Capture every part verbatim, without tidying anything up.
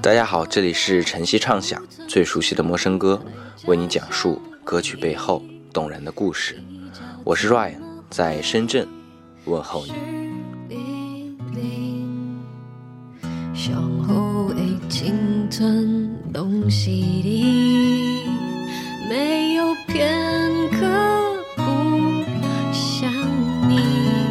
大家好，这里是晨曦畅想，最熟悉的陌生歌，为你讲述歌曲背后动人的故事。我是 Ryan， 在深圳问候你。 上好的青春拢是你，没有片刻不想你，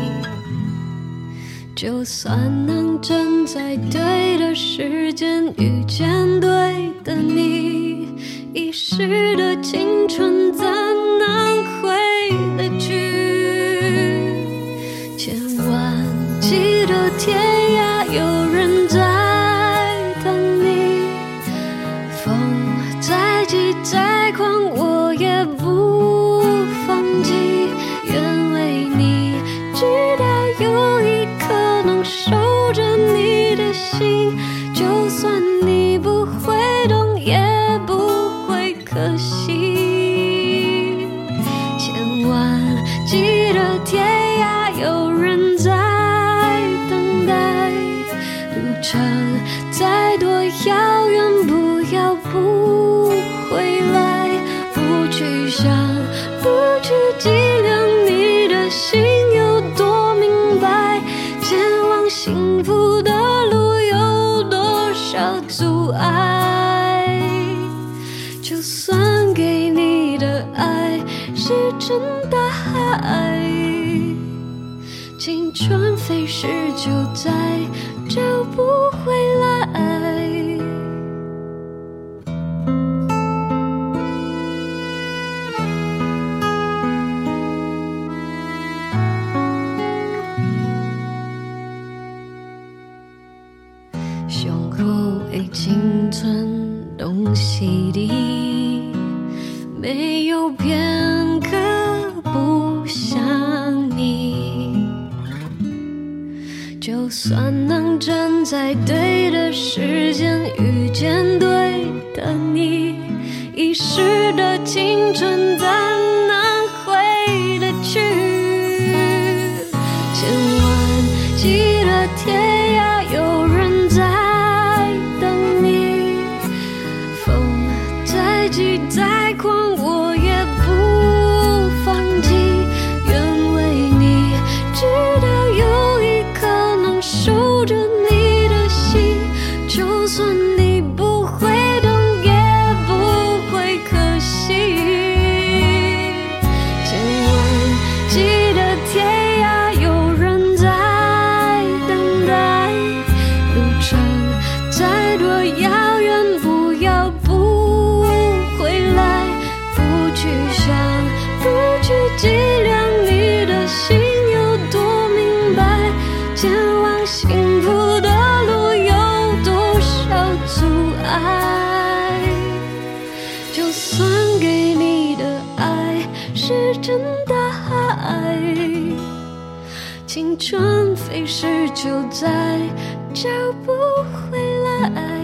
就算能站在对的时间遇见对的你，一时的青春怎能回得去？千万记得天涯有人在等你，风再急再狂我也不放弃，愿为你直到有一刻能守着你的心，就算你不会懂也不会可惜。千万记得天涯有人在等待，路程再多遥远不要不回来，不去想不去计量你的心有多明白，前往幸福的路有多少阻碍，就算给你的爱是真的爱，青春飞逝就再找不回来。上好的青春拢是你，没有片刻不想你，就算能站在对的时间遇见对的你，一时的青春怎能回得去？千万记得天涯有人在等你，风再急再狂我也不放弃，愿为你直到有一刻能守着你的心，就算你不会懂也不会可惜。千万记得天涯有人在等待，路程再多遥远不要不回来，不去想不去计量你的心有多明白，前往幸福的路有多少阻碍，就算给你的爱是真的爱，青春飞逝就再找不回来。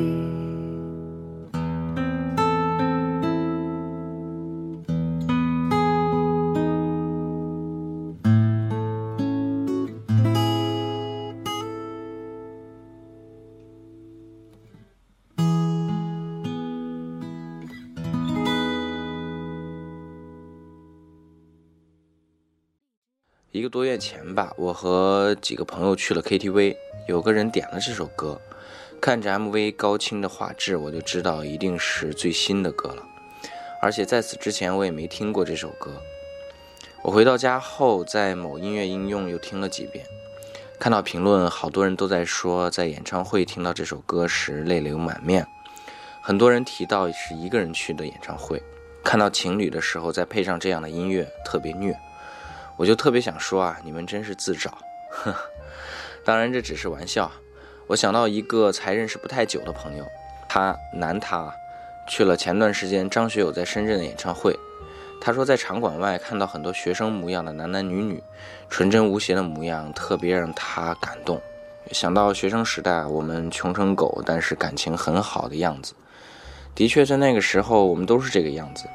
一个多月前吧，我和几个朋友去了 K T V， 有个人点了这首歌，看着 M V 高清的画质，我就知道一定是最新的歌了，而且在此之前我也没听过这首歌。我回到家后，在某音乐应用又听了几遍，看到评论好多人都在说在演唱会听到这首歌时泪流满面，很多人提到是一个人去的演唱会，看到情侣的时候再配上这样的音乐特别虐。我就特别想说啊，你们真是自找。呵呵，当然这只是玩笑。我想到一个才认识不太久的朋友，他男他去了前段时间张学友在深圳的演唱会。他说在场馆外看到很多学生模样的男男女女，纯真无邪的模样特别让他感动。想到学生时代我们穷成狗但是感情很好的样子，的确在那个时候我们都是这个样子。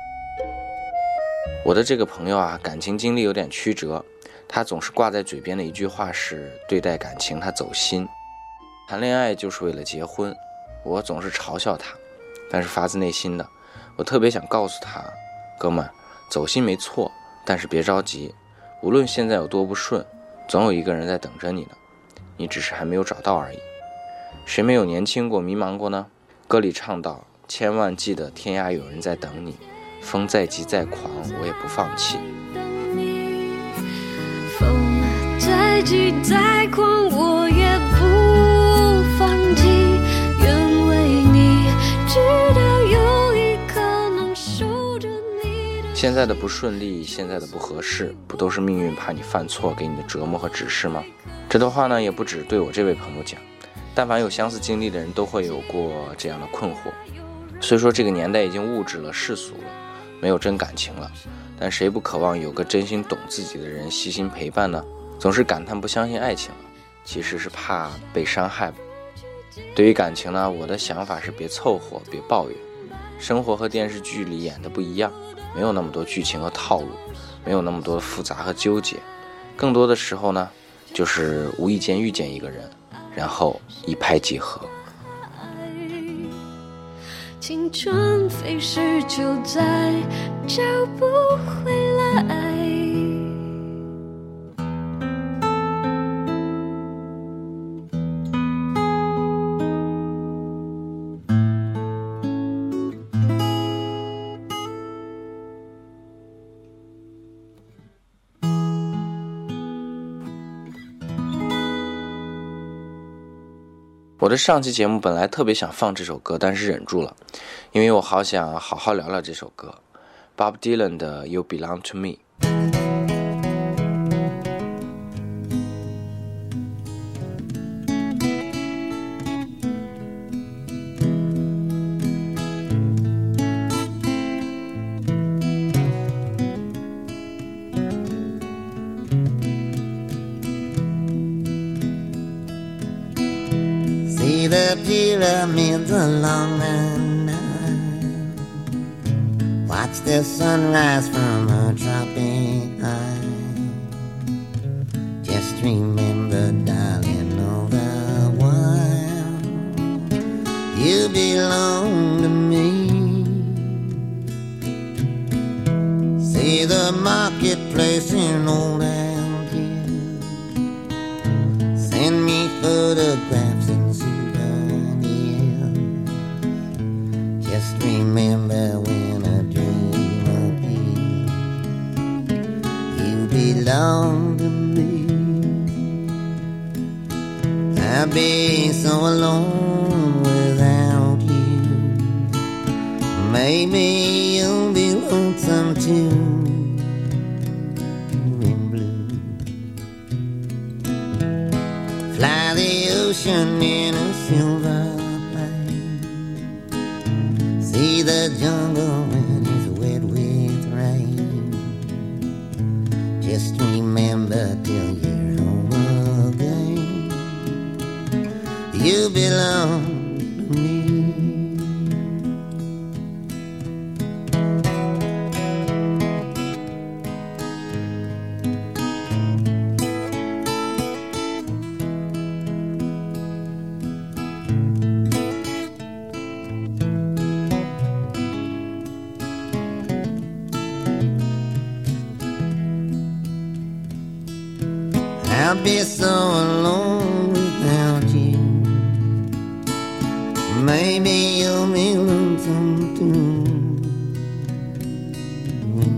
我的这个朋友啊，感情经历有点曲折，他总是挂在嘴边的一句话是，对待感情他走心，谈恋爱就是为了结婚， 我总是嘲笑他，但是发自内心的，我特别想告诉他，哥们，走心没错，但是别着急，无论现在有多不顺，总有一个人在等着你呢，你只是还没有找到而已。谁没有年轻过迷茫过呢？歌里唱到，千万记得天涯有人在等你，风再急再狂我也不放弃。 风再急再狂我也不放弃，愿为你直到有一刻能守着你的。 现在的不顺利，现在的不合适，不都是命运怕你犯错给你的折磨和指示吗？这段话呢，也不只对我这位朋友讲，但凡有相似经历的人都会有过这样的困惑。虽说这个年代已经物质了世俗了，没有真感情了，但谁不渴望有个真心懂自己的人悉心陪伴呢？总是感叹不相信爱情了，其实是怕被伤害。对于感情呢，我的想法是别凑合，别抱怨。生活和电视剧里演的不一样，没有那么多剧情和套路，没有那么多的复杂和纠结，更多的时候呢，就是无意间遇见一个人，然后一拍即合。 青春飞逝就再找不回来。 我的上期节目本来特别想放这首歌，但是忍住了，因为我好想好好聊聊这首歌 Bob Dylan 的 You Belong to Me。 See the pyramids along the Nile, watch the sunrise from a tropic isle. Just remember, darling, all the while you belong to me. See the marketplace in old Algiers, send me photographs and just remember when a dream appears, you belong to me. I'd be so alone without you. Maybe you'll be lonesome too. In blue, fly the ocean in a silver. See the jungle when it's wet with rain. Just remember till you're home again, you belong to me. I'll be so alone without you. Maybe you'll be lonesome too. In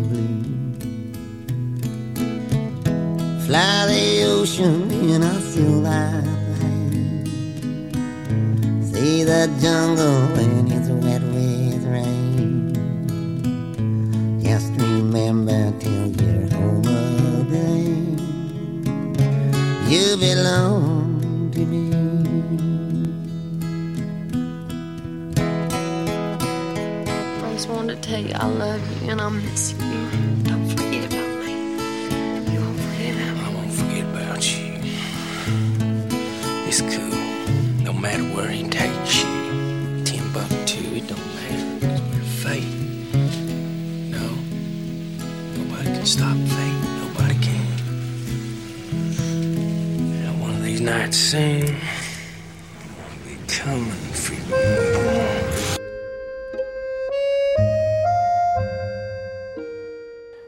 blue, fly the ocean in a silver plane. See the jungle when it's wet with rain. Just remember till you're home again, you belong to me. I just wanted to tell you I love you and I miss you. Don't forget about me. You won't forget about me. I won't forget about you. It's cool. No matter where he takes you, Timbuktu, it don't matter. We're fate. No, nobody can stop fate. Nobody can. These nights soon, I'll be coming for you.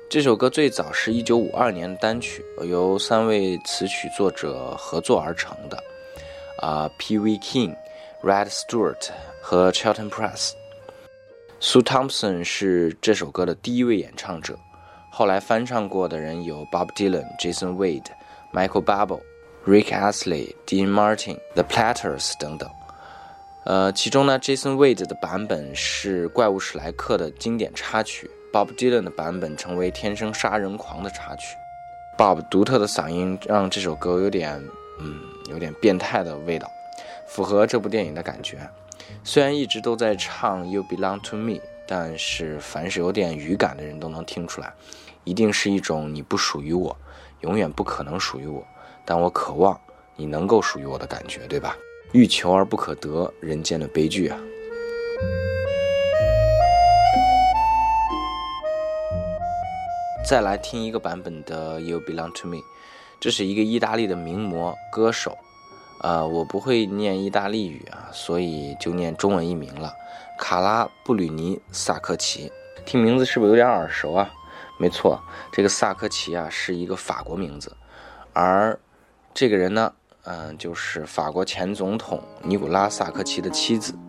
这首歌最早是一九五二年的单曲，由三位词曲作者合作而成的，啊、呃、Pee Wee King、Rod Stewart 和 Charlton Press。Sue Thompson 是这首歌的第一位演唱者，后来翻唱过的人有 Bob Dylan、Jason Wade、Michael Bublé、Rick Astley、Dean Martin、The Platters 等等。呃，其中呢 Jason Wade 的版本是怪物史莱克的经典插曲， Bob Dylan 的版本成为天生杀人狂的插曲。 Bob 独特的嗓音让这首歌有点嗯，有点变态的味道，符合这部电影的感觉。虽然一直都在唱 You Belong to Me， 但是凡是有点语感的人都能听出来，一定是一种你不属于我，永远不可能属于我，但我渴望你能够属于我的感觉，对吧？欲求而不可得，人间的悲剧啊。再来听一个版本的 You Belong to Me， 这是一个意大利的名模歌手，呃，我不会念意大利语啊，所以就念中文译名了，卡拉布吕尼萨科齐。听名字是不是有点耳熟啊？没错，这个萨科齐啊是一个法国名字，而这个人呢，嗯、呃，就是法国前总统尼古拉萨科齐的妻子。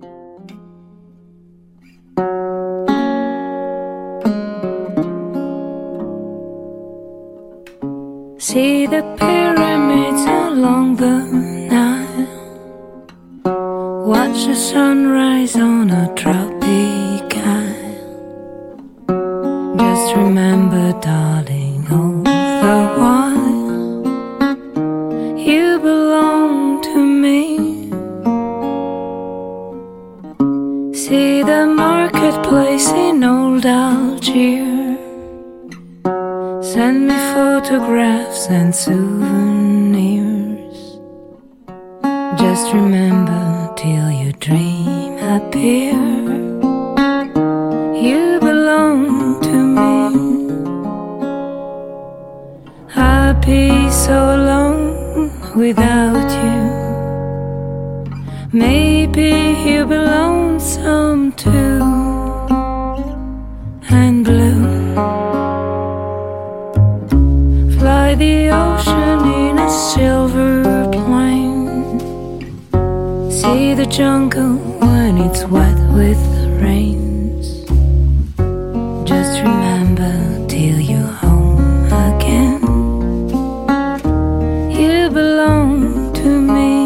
See the pyramids along the Nile, watch the sunrise on a tropic isle. Just remember, darling, all the while you belong to me. See the marketplace in old Algiers, send me photographs and souvenirs. Just remember till your dream appear, you belong to me. I'd be so alone without you. Maybe you'll be lonesome too, and blue. Fly the ocean in a silver plane, see the jungle when it's wet with the rains. Just remember till you're home again, you belong to me.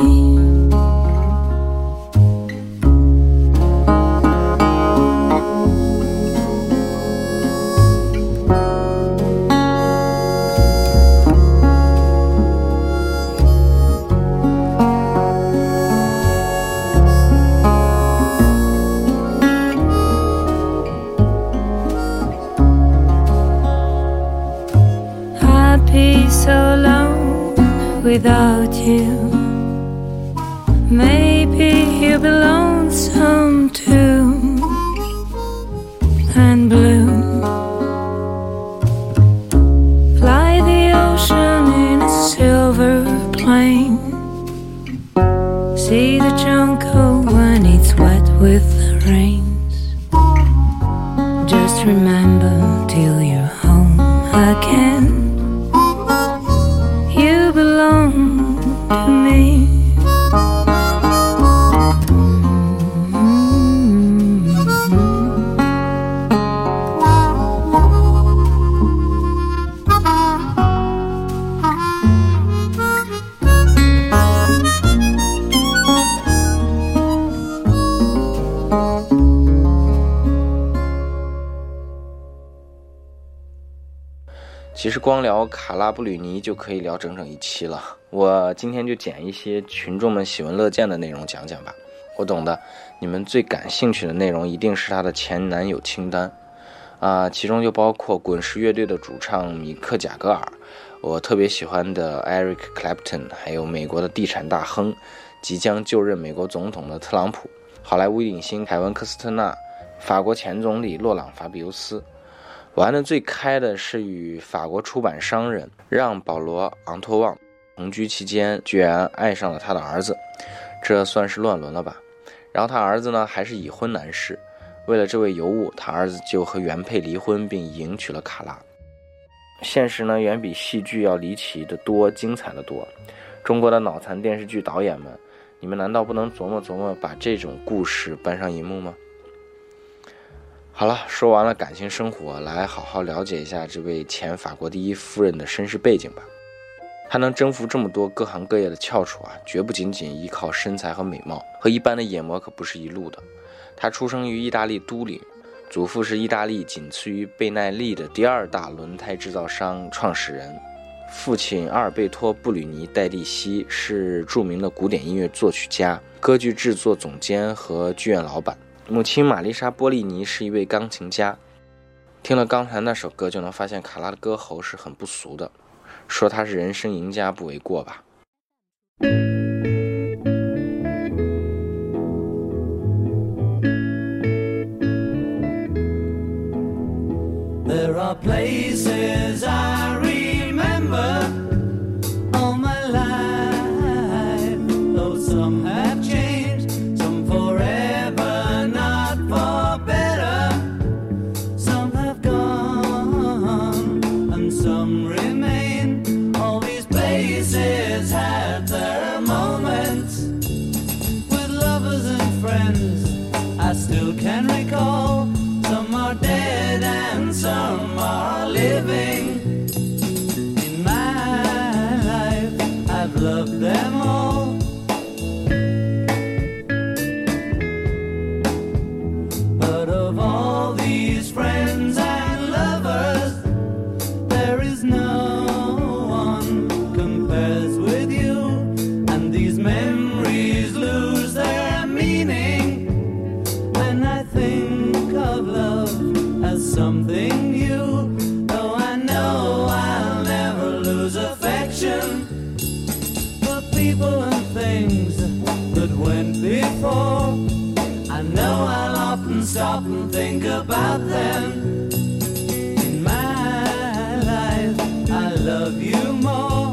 So alone without you. Maybe you'll be lonesome too, and blue. Fly the ocean in a silver plane, see the jungle when it's wet with the rains. Just remember till you're home again, you belong to me. 其实光聊卡拉布吕尼就可以聊整整一期了，我今天就捡一些群众们喜闻乐见的内容讲讲吧。我懂的，你们最感兴趣的内容一定是他的前男友清单啊、呃，其中就包括滚石乐队的主唱米克贾格尔，我特别喜欢的 Eric Clapton， 还有美国的地产大亨，即将就任美国总统的特朗普，好莱坞影星凯文科斯特纳，法国前总理洛朗法比尤斯。玩的最开的是与法国出版商人让保罗昂托旺同居期间居然爱上了他的儿子，这算是乱伦了吧。然后他儿子呢还是已婚男士， 为了这位尤物，他儿子就和原配离婚，并迎娶了卡拉。现实呢，远比戏剧要离奇的多，精彩的多。中国的脑残电视剧导演们，你们难道不能琢磨琢磨，把这种故事搬上荧幕吗？好了，说完了感情生活，来好好了解一下这位前法国第一夫人的身世背景吧。她能征服这么多各行各业的翘楚啊，绝不仅仅依靠身材和美貌，和一般的野模可不是一路的。她出生于意大利都灵，祖父是意大利仅次于贝耐利的第二大轮胎制造商创始人，父亲阿尔贝托·布吕尼·戴蒂西是著名的古典音乐作曲家、歌剧制作总监和剧院老板。母亲玛丽莎·波利尼是一位钢琴家。听了刚才那首歌，就能发现卡拉的歌喉是很不俗的，说他是人生赢家不为过吧。 There are places I remember all my life, though some have changed, some forever, not for better. Some have gone and some remain. All these places had their moments with lovers and friends I still can recall. Some are dead and some are living. In my life, I've loved them all. But of all these friends and lovers, there is no one compares with you. And these memories lose their meaning when I think of love as something new. Though I know I'll never lose affection for people and things that went before. I know I'll often stop and think about them. In my life, I love you more.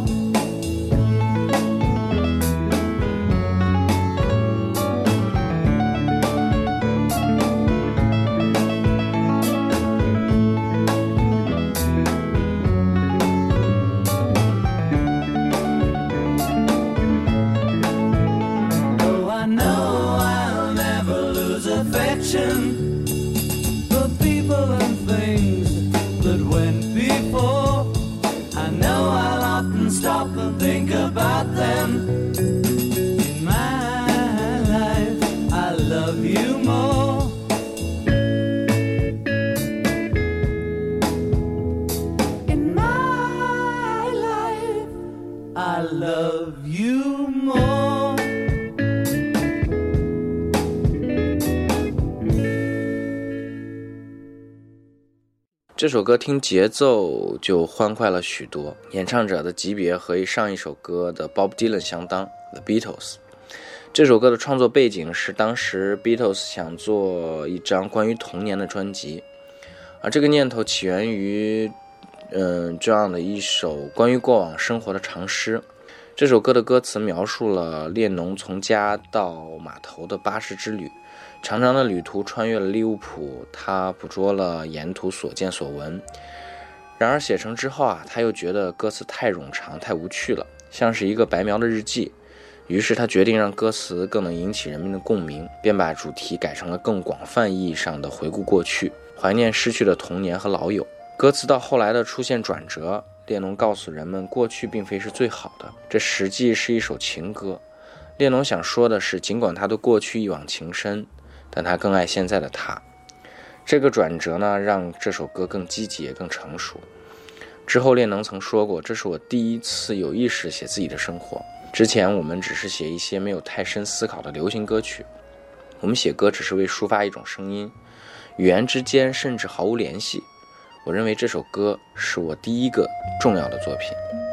For people and things that went before, I know I'll often stop and think about them. In my life, I love you more. In my life, I love you more. 这首歌听节奏就欢快了许多，演唱者的级别和上一首歌的 Bob Dylan 相当 The Beatles。 这首歌的创作背景是当时 Beatles 想做一张关于童年的专辑，而这个念头起源于嗯这样的一首关于过往生活的长诗。这首歌的歌词描述了列侬从家到码头的巴士之旅，长长的旅途穿越了利物浦，他捕捉了沿途所见所闻。然而写成之后啊，他又觉得歌词太冗长太无趣了，像是一个白描的日记。于是他决定让歌词更能引起人们的共鸣，便把主题改成了更广泛意义上的回顾过去，怀念失去的童年和老友。歌词到后来的出现转折，列侬告诉人们过去并非是最好的，这实际是一首情歌。列侬想说的是，尽管他对过去一往情深，但他更爱现在的他。这个转折呢，让这首歌更积极也更成熟。之后列侬曾说过，这是我第一次有意识写自己的生活，之前我们只是写一些没有太深思考的流行歌曲，我们写歌只是为抒发一种声音，语言之间甚至毫无联系。我认为这首歌是我第一个重要的作品。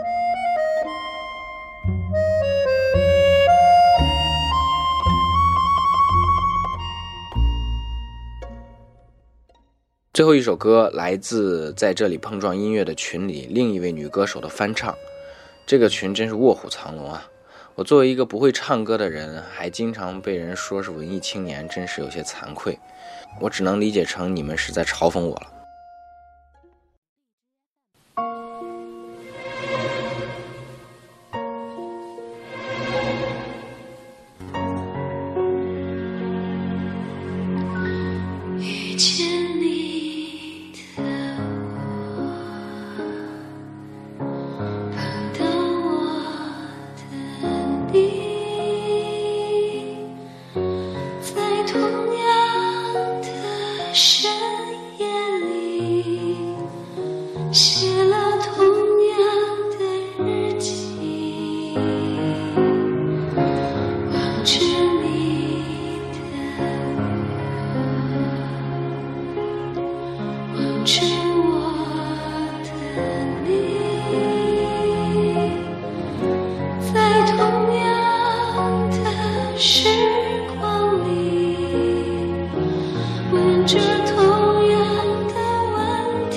最后一首歌来自在这里碰撞音乐的群里另一位女歌手的翻唱，这个群真是卧虎藏龙啊！ 我作为一个不会唱歌的人，还经常被人说是文艺青年，真是有些惭愧。我只能理解成你们是在嘲讽我了。 遇见你的我，碰到我的你，在同样的深夜里，写了同样的日记，望着你的望着我的你，在同样的时光里，问着同样的问题，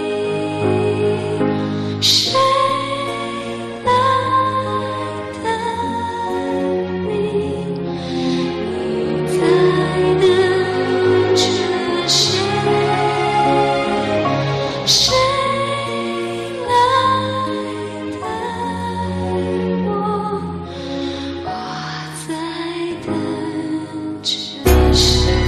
谁来等你？你在等着谁？谁来等我？我在等着谁？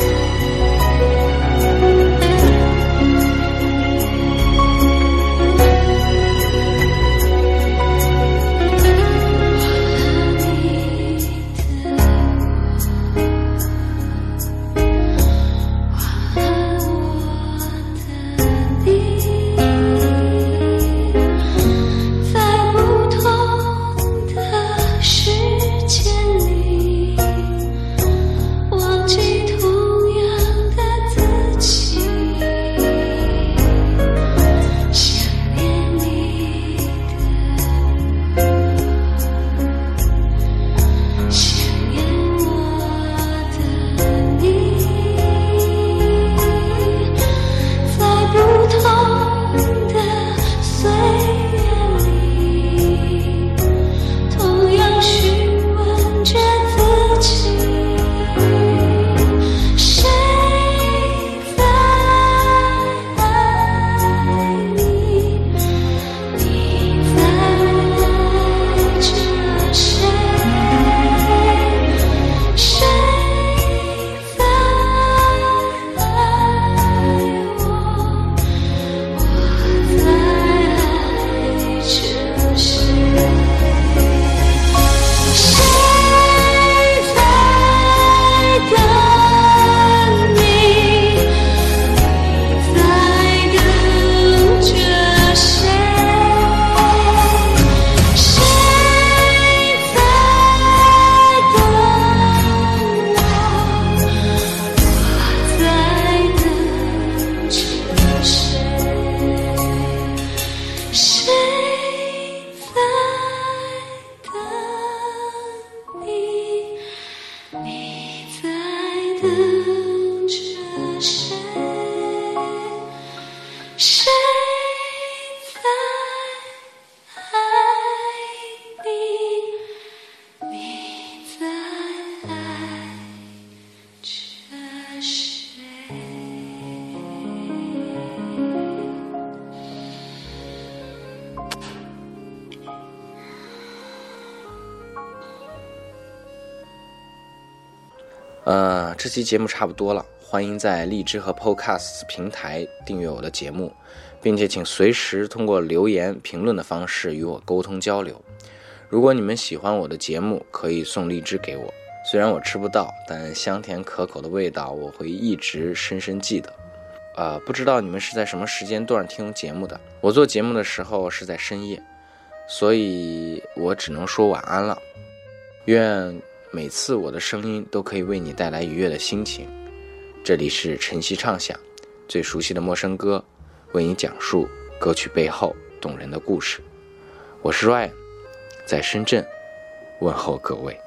呃，这期节目差不多了，欢迎在荔枝和 Podcast 平台订阅我的节目，并且请随时通过留言评论的方式与我沟通交流。如果你们喜欢我的节目，可以送荔枝给我，虽然我吃不到，但香甜可口的味道我会一直深深记得。呃，不知道你们是在什么时间段听节目的，我做节目的时候是在深夜，所以我只能说晚安了。愿每次我的声音都可以为你带来愉悦的心情。这里是晨曦畅想，最熟悉的陌生歌，为你讲述歌曲背后动人的故事。我是 Ryan， 在深圳问候各位。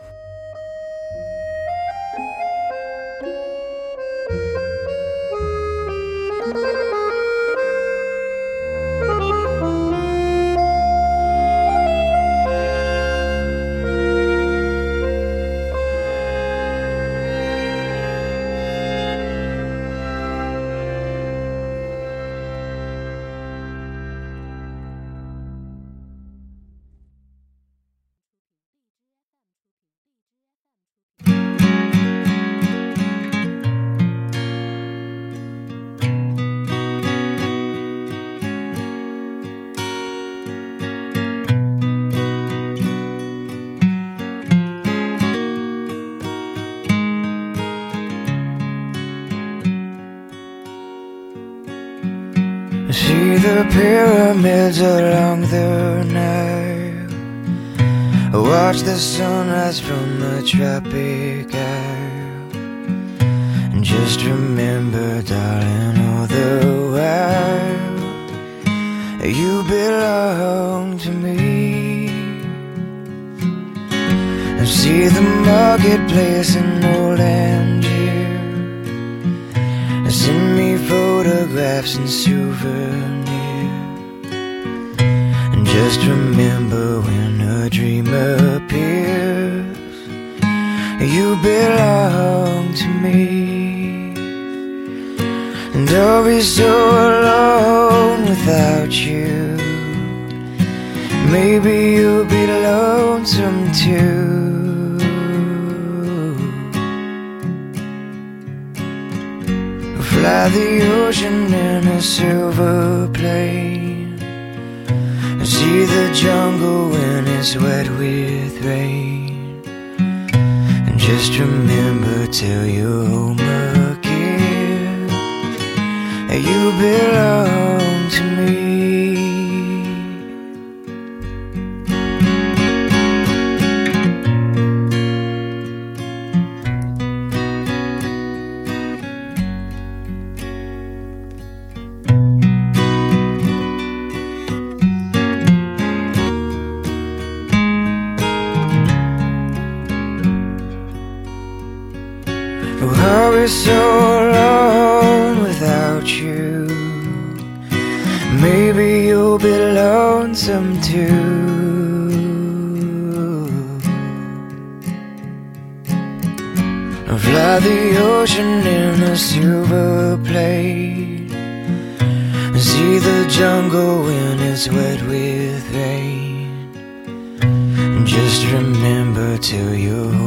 See the pyramids along the Nile, watch the sunrise from the tropic isle, and just remember, darling, all the while you belong to me. And see the marketplace in old Angier, send me photographs and souvenirs. And just remember, when a dream appears, you belong to me. And I'll be so alone without you. Maybe you'll be lonesome too. Fly the ocean in a silver plane, see the jungle when it's wet with rain. And just remember, till you're home again, you belong to me. I'll be so alone without you. Maybe you'll be lonesome too. I'll fly the ocean in a silver plane, see the jungle when it's wet with rain. And just remember, till you're